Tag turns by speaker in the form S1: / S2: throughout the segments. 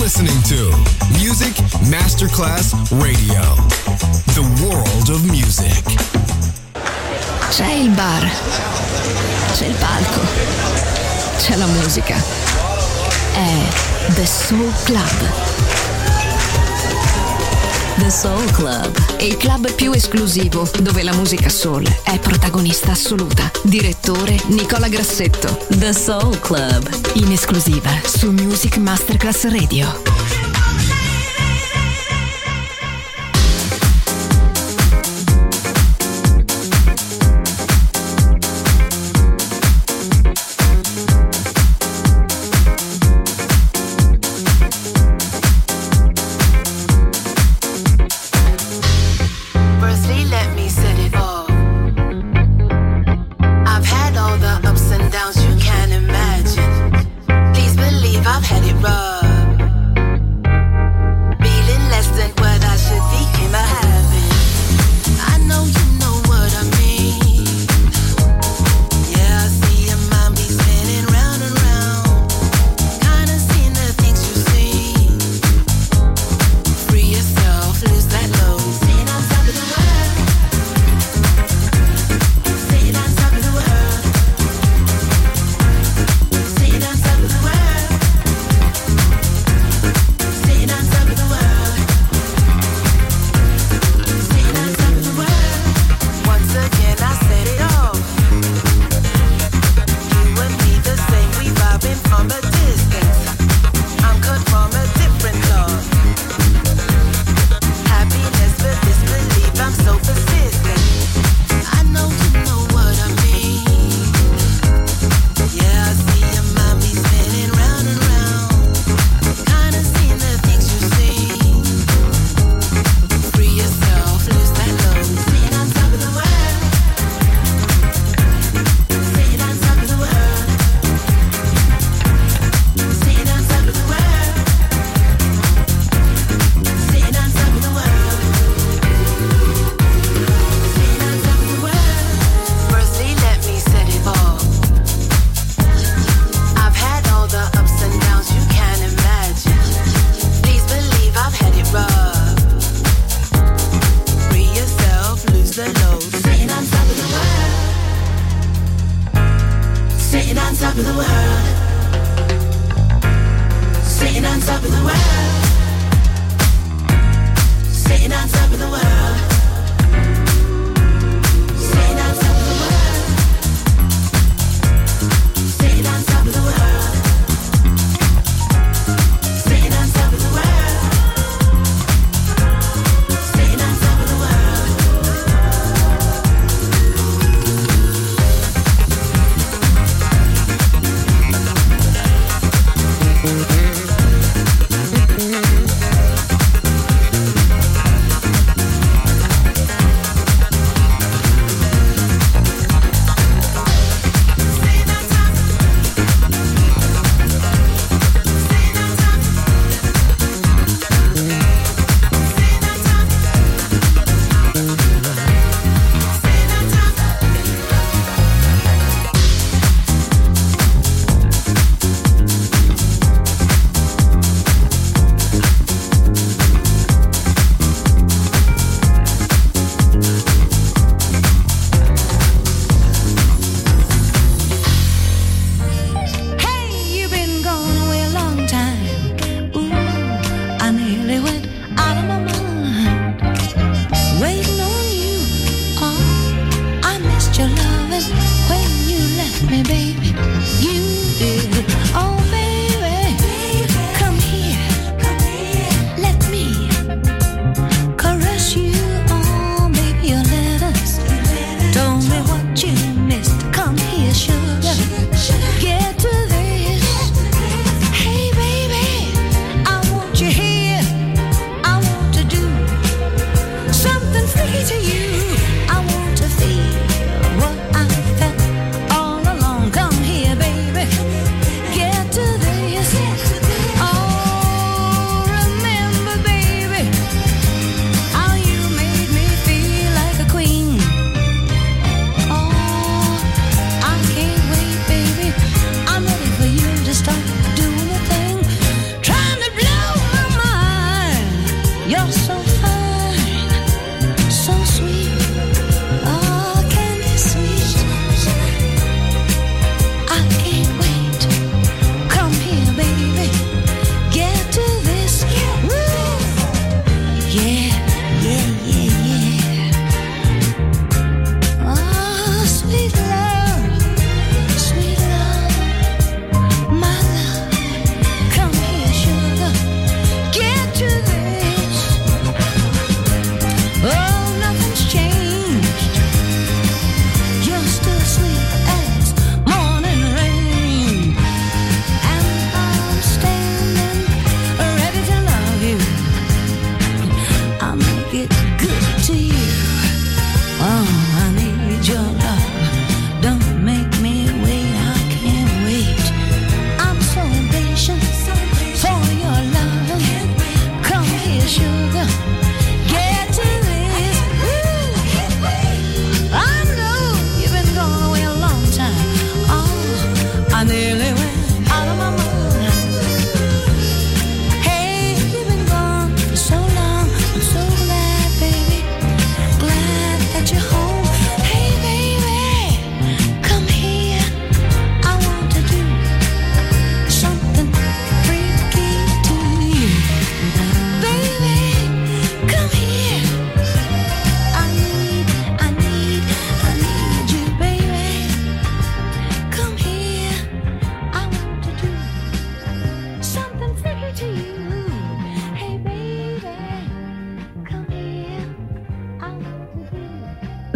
S1: listening to Music Masterclass Radio. The world of music.
S2: C'è il bar, c'è il palco, c'è la musica. È The Soul Club. The Soul Club, il club più esclusivo dove la musica soul è protagonista assoluta. Direttore Nicola Grassetto. The Soul Club, in esclusiva su Music Masterclass Radio.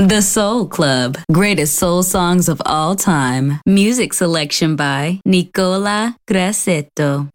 S2: The Soul Club. Greatest soul songs of all time. Music selection by Nicola Grassetto.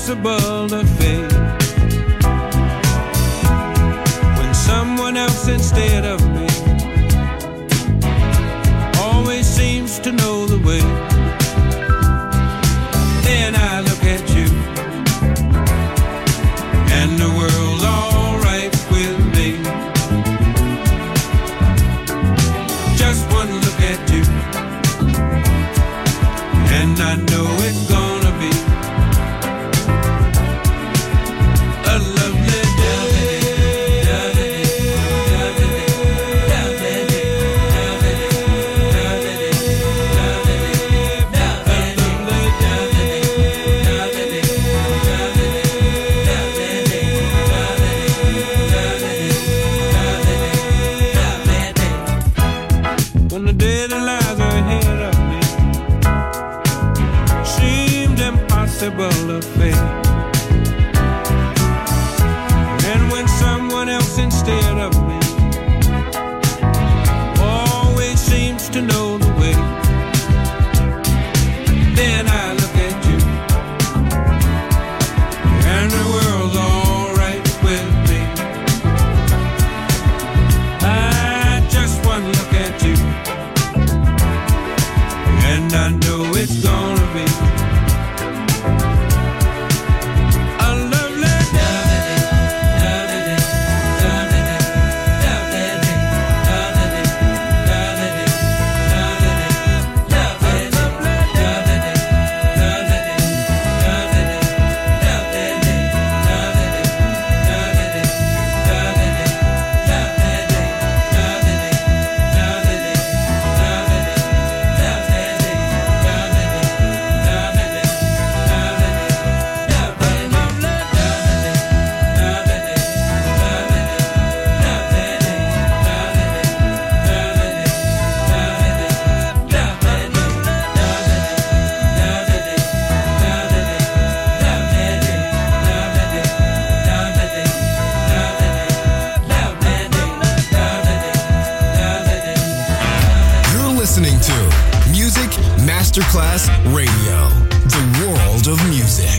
S3: impossible to fake. When someone else instead of me always seems to know the way, then I look at you and the world's all right with me. Just one look at you and I know it's gonna be a lovely when the day that lies ahead of me seemed impossible to face. And when someone else instead of me always seems to know the way, then I look at you and the world's all right with me. I just one look at you and I know it's gonna be a lovely
S1: Listening to Music Masterclass Radio, the world of music.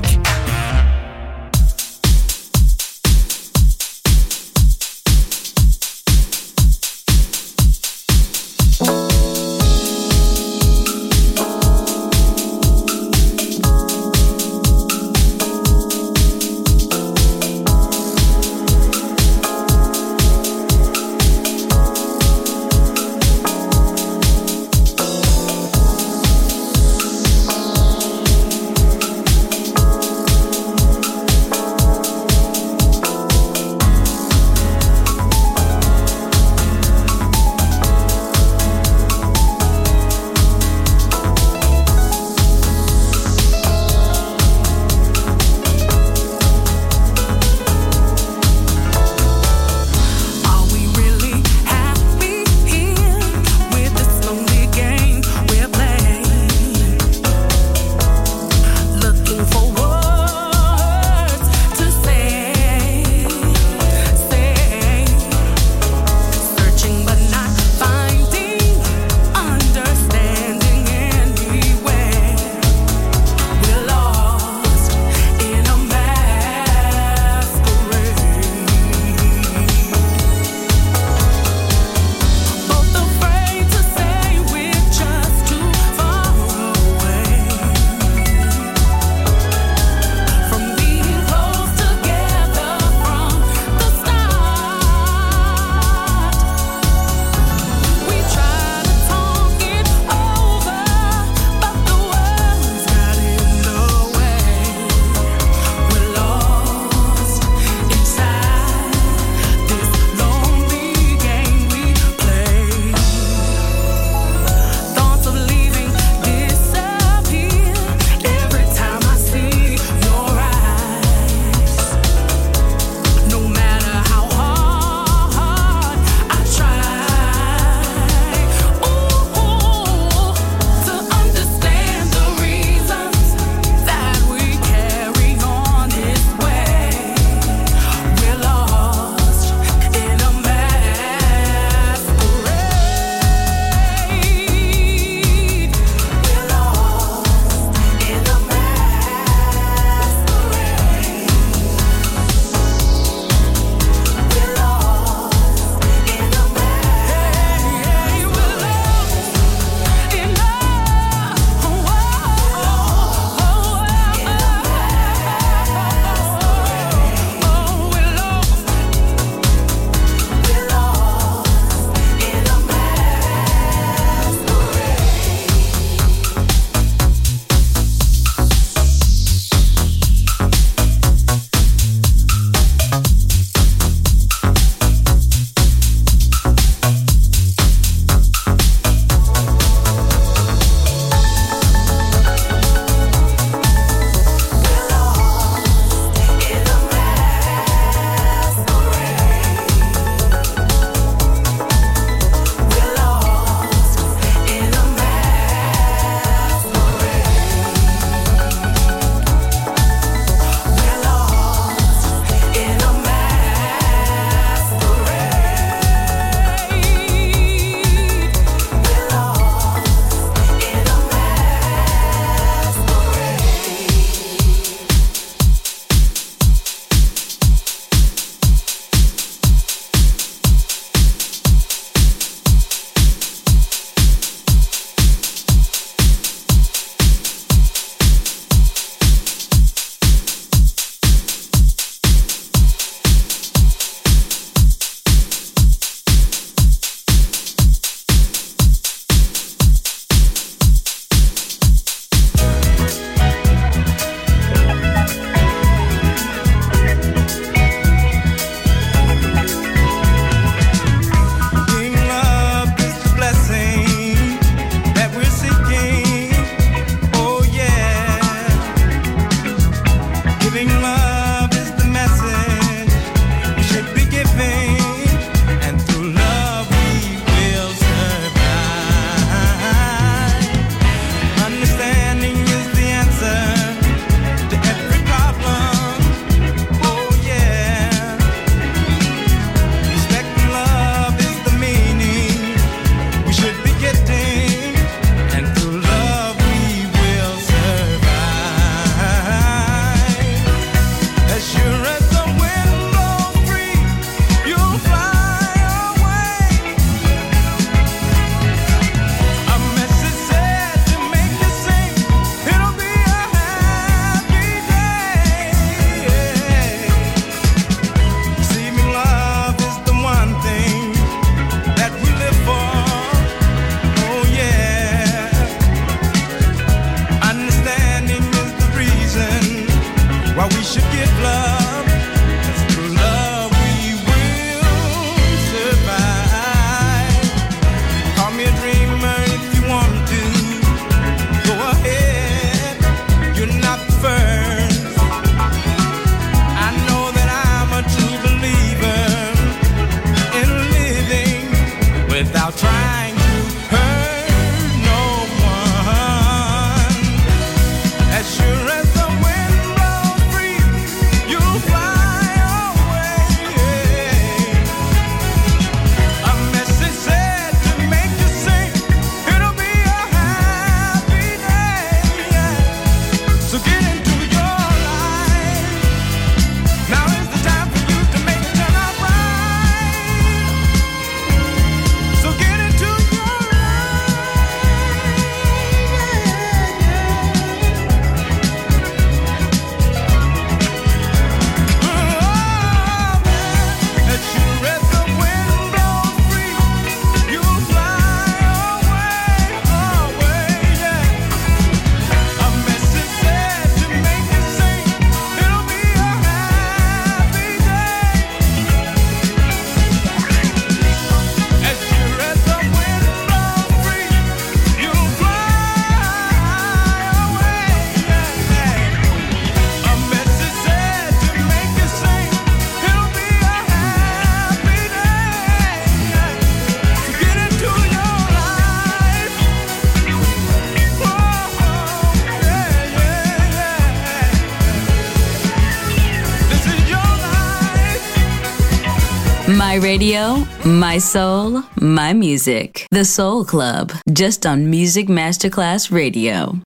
S4: My radio, my soul, my music. The Soul Club, just on Music Masterclass Radio.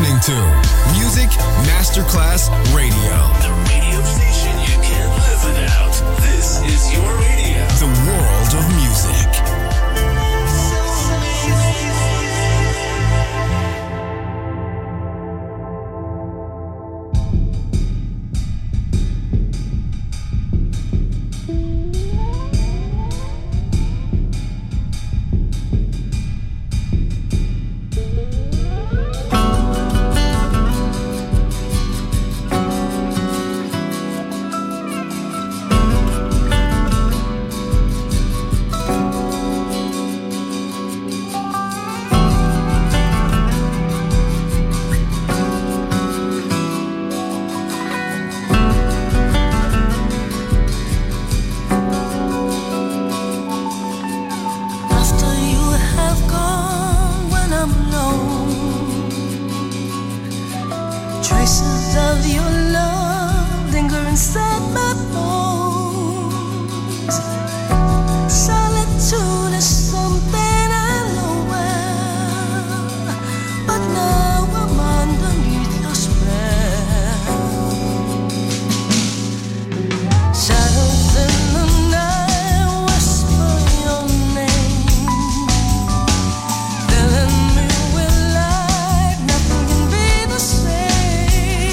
S1: listening to Music Masterclass Radio.
S5: The radio station you can't live without. This is your radio.
S1: The world of music.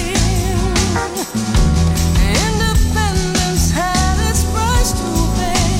S6: Independence had its price to pay.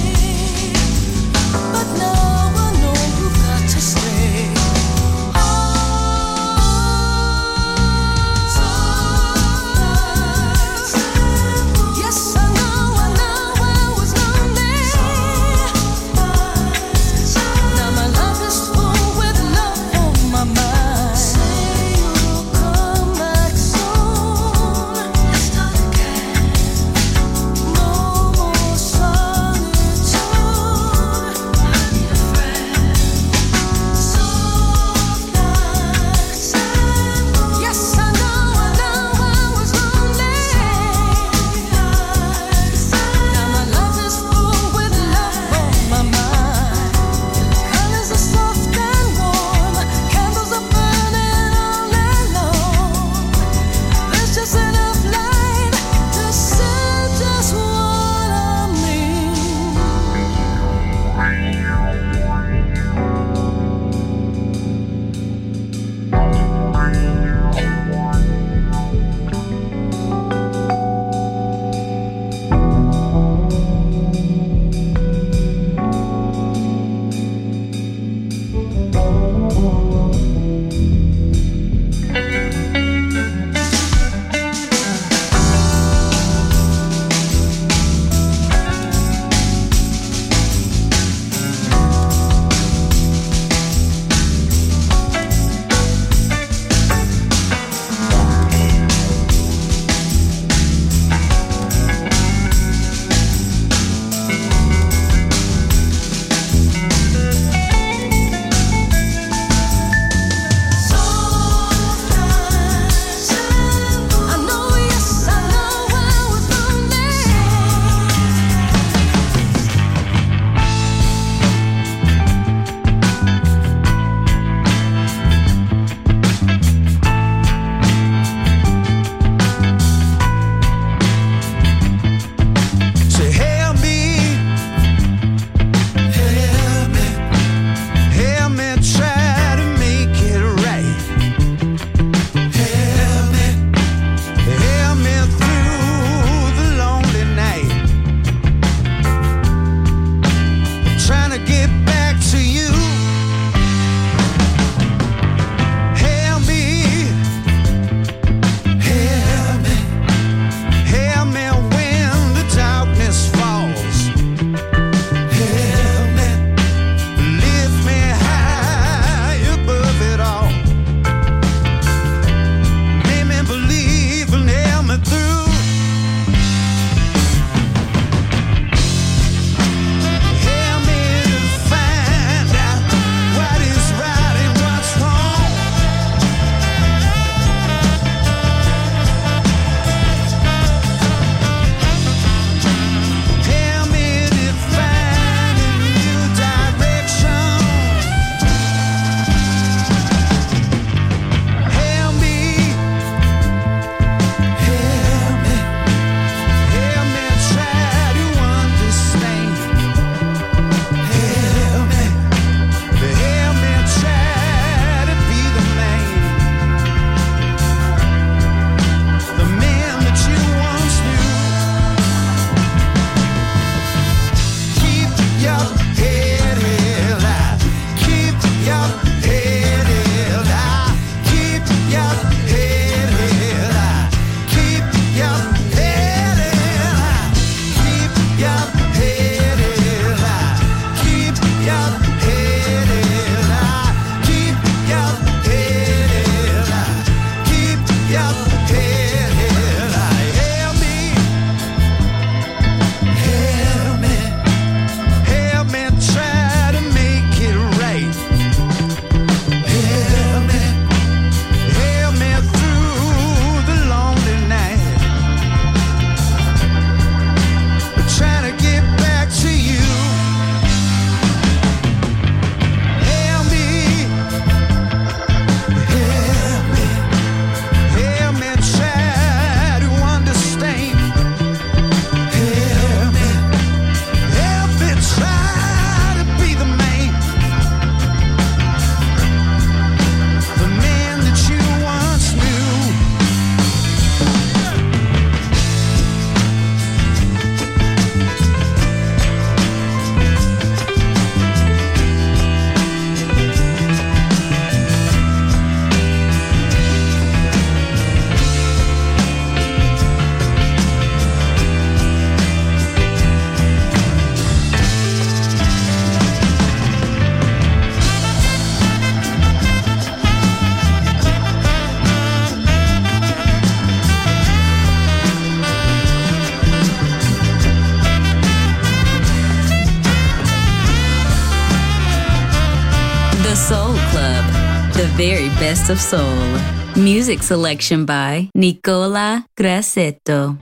S4: very best of soul. Music selection by Nicola Grassetto.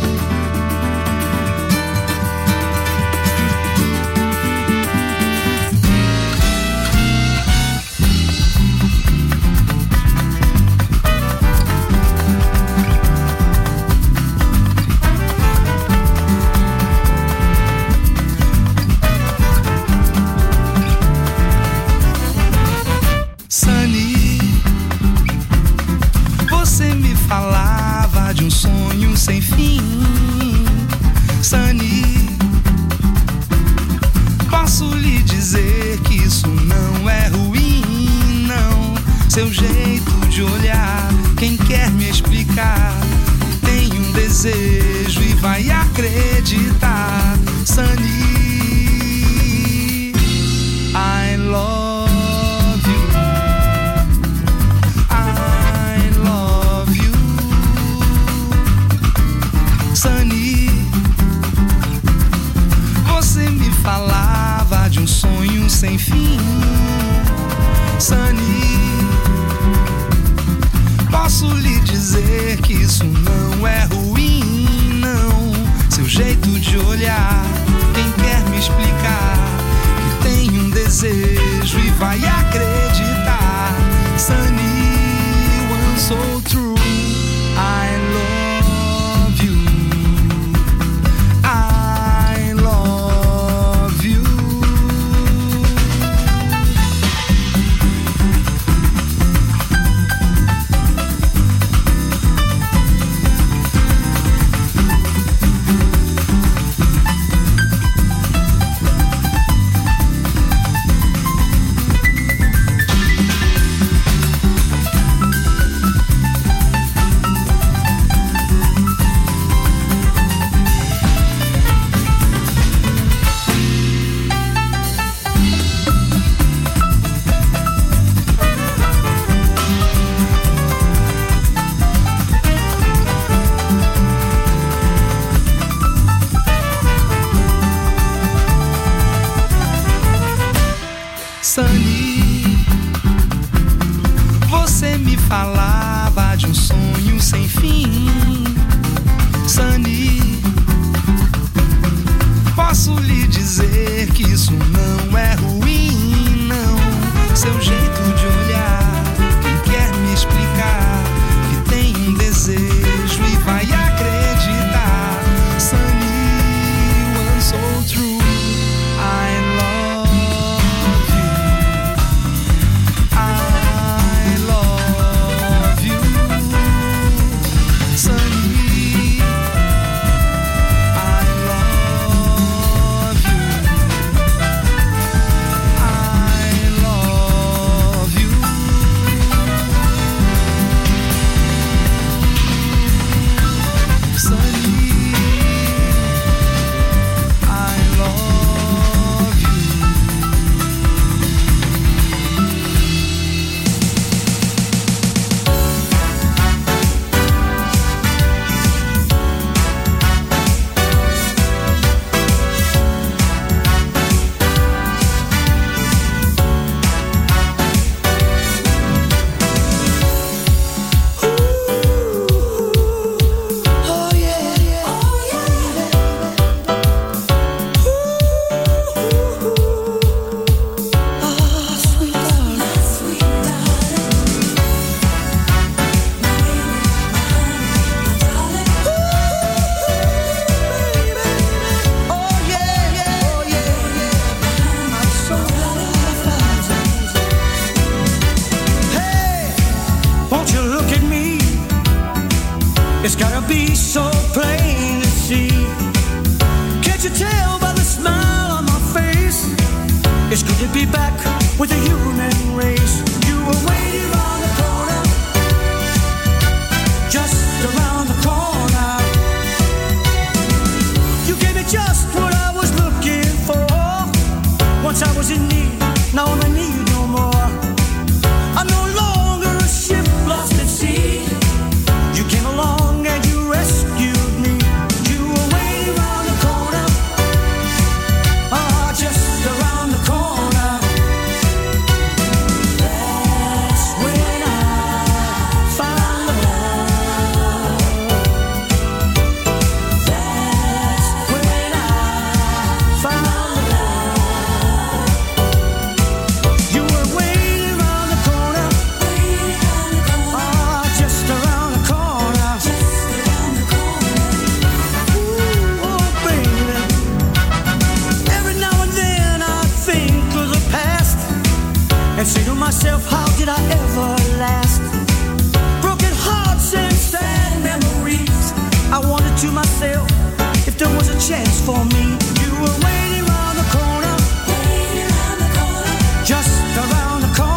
S6: Falava de um sonho sem fim, Sunny. Posso lhe dizer que isso não é ruim, não. Seu jeito de olhar, quem quer me explicar, tem um desejo e vai acreditar, Sunny. I love Sunny, você me falava de um sonho sem fim, Sunny. Posso lhe dizer que isso não é ruim, não. Seu jeito de olhar, quem quer me explicar, que tem um desejo e vai acreditar, Sunny, one so true. I love Sunny, você me falava de um sonho sem fim, Sunny. Posso lhe dizer que isso não é ruim, não. Seu jeito de olhar, quem quer me explicar, que tem um desejo e vai acreditar, Sunny, one so true. I love you.
S7: It's gotta be so plain to see. Can't you tell by the smile on my face? It's good to be back with the human race. You were waiting around the corner, just around the corner. You gave me just what I was looking for. Once I was in need, now I'm in need no more. I'm no longer a ship lost at sea. You came along and you rescued me. You were waiting around the corner, just around the corner. That's when I found love. That's when I found love. You were waiting around the corner, just around the corner. Ooh, oh baby. Every now and then I think of the past and say to myself, how did I ever last? Broken hearts and sad memories. I wondered to myself if there was a chance for me. You were waiting around the corner, just around the corner.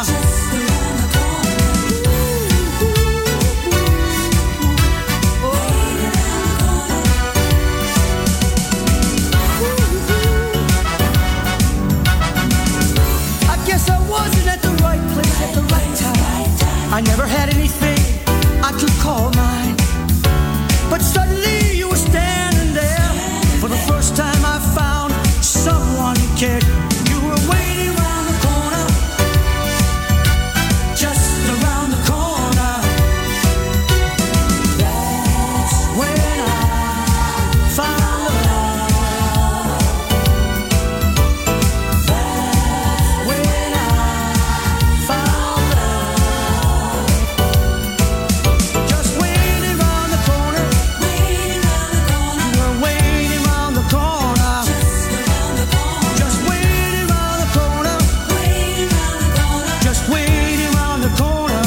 S7: I guess I wasn't at the right place at the right time. I never had anything I could call mine. But suddenly you were standing there. For the first time I found someone who cared. You were waiting around the corner, just around the corner. That's when I found love. That's when I found love. Just waiting around the corner. You were waiting around the corner. Just waiting around the corner. Just waiting around the corner.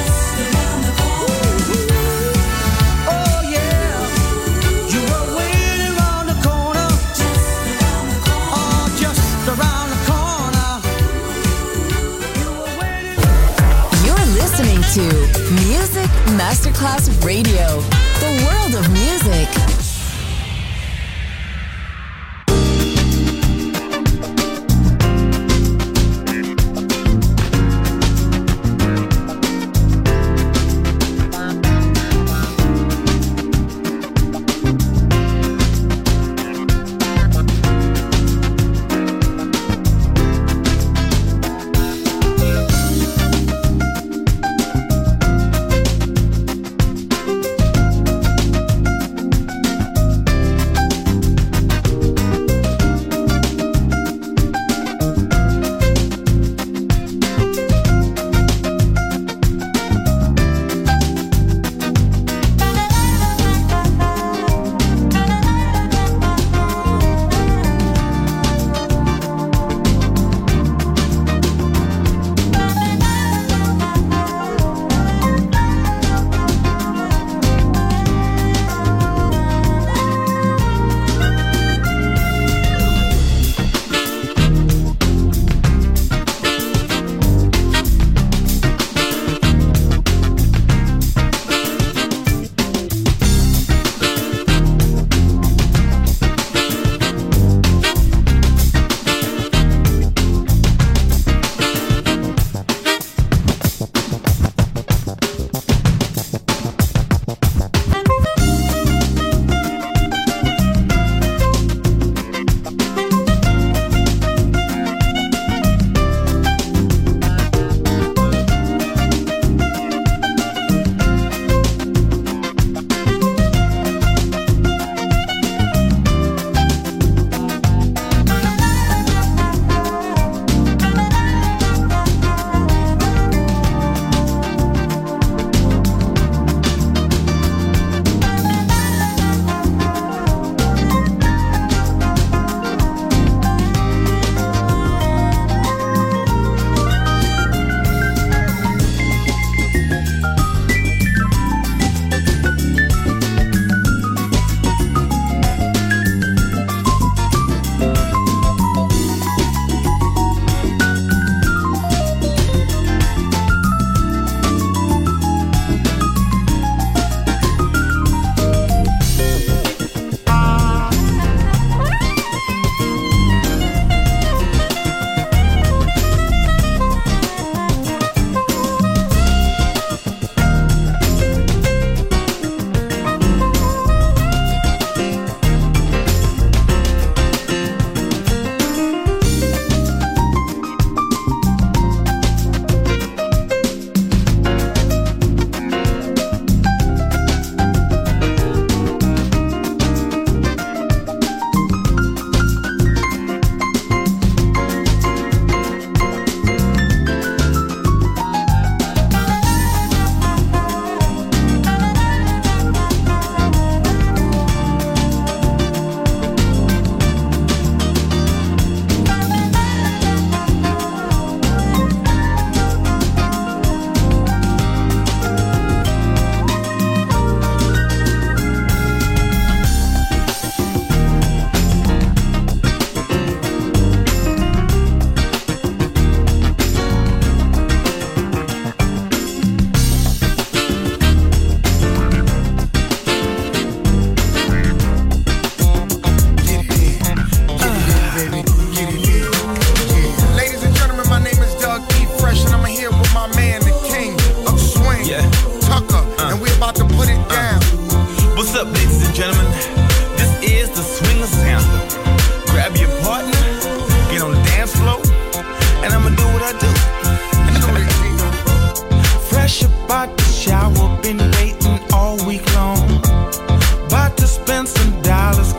S7: Oh yeah. You were waiting around the corner. Oh, just around the corner. You were waiting.
S2: You're listening to Music Masterclass Radio, the world of music.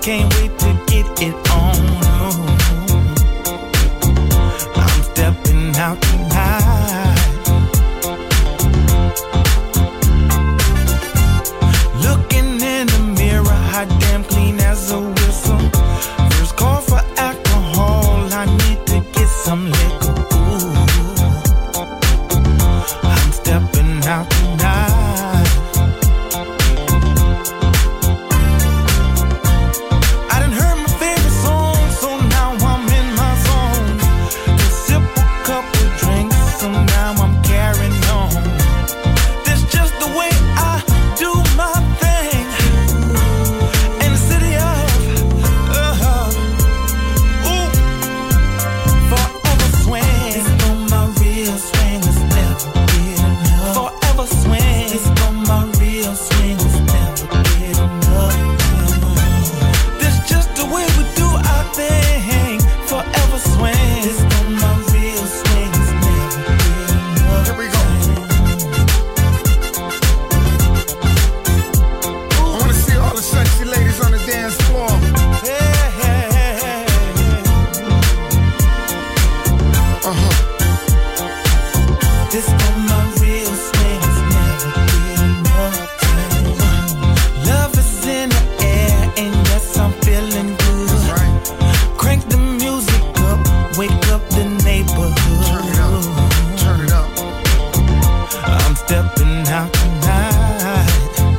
S8: can't wait to get it on. I'm stepping out tonight. Looking in the mirror, hot damn clean as a whistle. First call for alcohol, I need to get some liquor. Ooh. I'm stepping out tonight. I done heard my favorite song, so now I'm in my zone. Just sip a couple drinks, so now I'm carrying on. That's just the way I do my thing. In the city of ooh, forever swing. It's on my real swing, it's never get enough. Forever swing. It's on my real swing, it's never get enough. That's just the way we do our thing. Forever swing. It's on my real swing, it's never get enough.
S9: Here we go. I wanna see all the sexy ladies on the dance floor.
S8: Hey, hey, hey, hey. This on my real swing, it's never get enough. Love is in the air, and yes, I'm feeling good.
S9: That's right.
S8: Crank the music up, wake up the neighborhood.
S9: Turn it up. Turn it up.
S8: I'm stepping out tonight.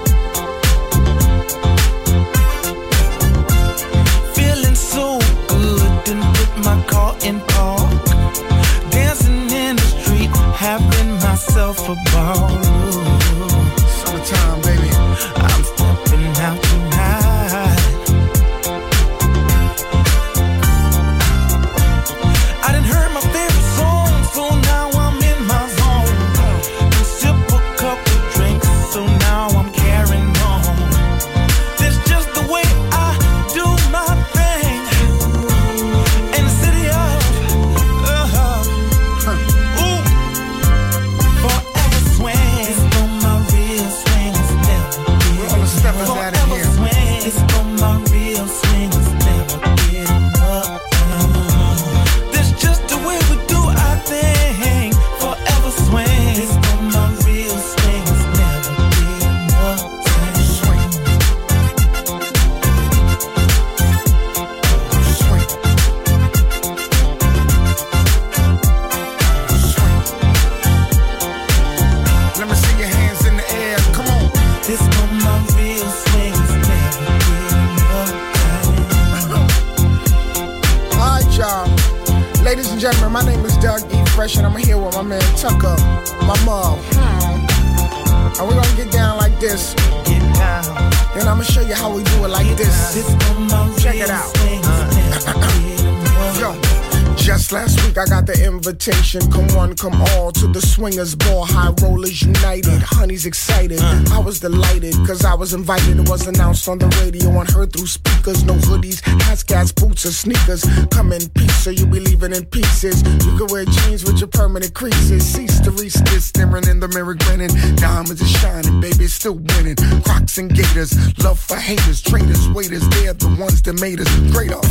S8: Feeling so good, didn't put my car in park. Dancing in the street, having myself a ball.
S9: Summertime, baby.
S8: I'm stepping out tonight. I done heard my favorite song, so now I'm in my zone. And sip a couple drinks, so now I'm carrying on. That's just the way I do my thing. In the city of ooh, forever swing. It's on my real swing, it's never
S9: Where all the steppers at in
S8: forever
S9: here?
S8: swing. It's on my real swing, it's never get enough. That's just the way we do our thing. Forever swing. It's on my real swing, it's never get enough.
S9: Swing. Swing. Swing. Let me see your hands in the air. Come on.
S8: This on my real swing, it's never get enough.
S9: All right, y'all. Ladies and gentlemen, my name is Doug E. Fresh, and I'm here with my man Tucker, my mom. And we're gonna get down like this,
S8: Get down.
S9: and I'm gonna show you how we do it like this.
S8: This on my
S9: Check
S8: real
S9: it out.
S8: swing, it's never get enough.
S9: Yo, just last week I got the invitation. Come one, come all to the Swingers Ball. High Rollers United. Honey's excited. I was delighted because I was invited. It was announced on the radio and heard through speakers. No hoodies, hats, gas, boots, or sneakers. Come in peace, so you be leaving in pieces. You can wear jeans with your permanent creases. Cease to resist, staring in the mirror, grinning. Diamonds are shining, baby, it's still winning. Crocs and gators, love for haters, traitors, waiters. They're the ones that made us great off.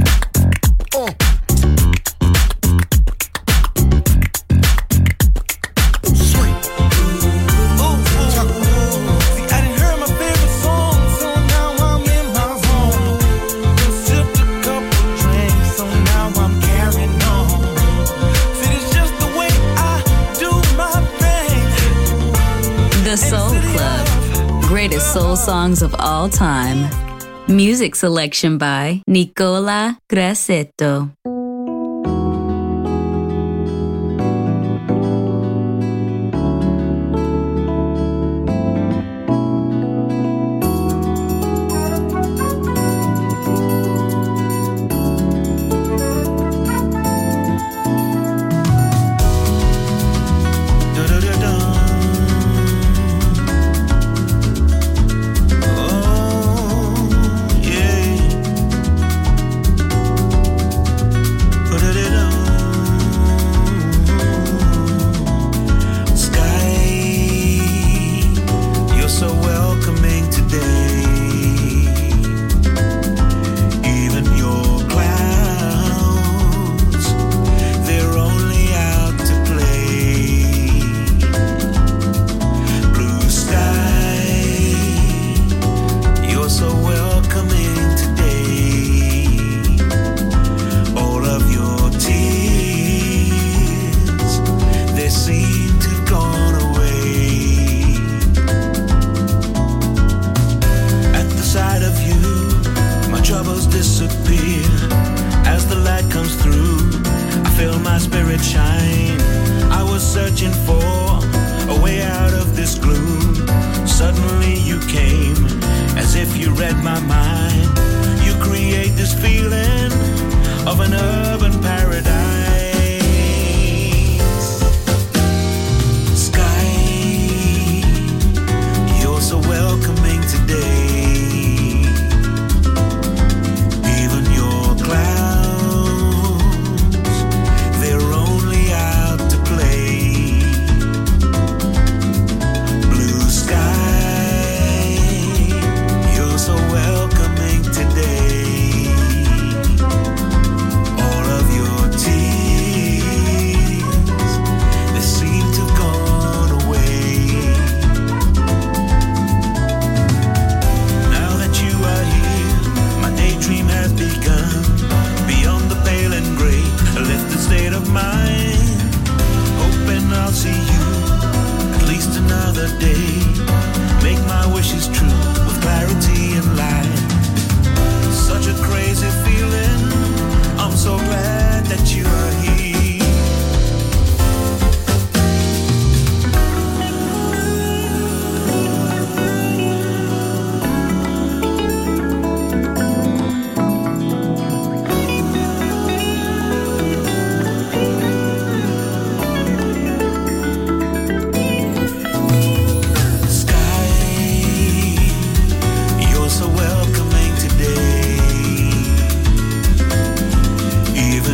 S9: Swing.
S8: See, I done heard my favorite song, so now I'm in my zone. Done sipped a couple drinks, so now I'm carrying on. See, it's just the way I do my thing.
S4: The Soul Club. Greatest soul songs of all time. Music selection by Nicola Grassetto.
S8: came, as if you read my mind. You create this feeling of an urban paradise. Sky, you're so welcoming today. Even your clouds, they're only out to play. Blue sky, you're so welcoming today. All of your tears, they seem to have gone away. Now that you are here, my daydream has begun. Beyond the pale and gray, a lifted state of mind. Hoping I'll see you at least another day. Make my wishes true with clarity and light. Such a crazy feeling, I'm so glad that you are here. Sky, you're so welcoming today. Even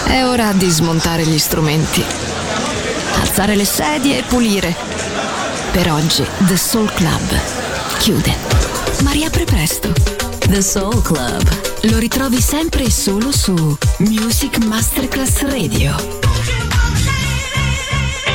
S2: È ora di smontare gli strumenti, alzare le sedie e pulire. Per oggi The Soul Club chiude, ma riapre presto.
S4: The Soul Club.
S2: Lo ritrovi sempre e solo su Music Masterclass Radio.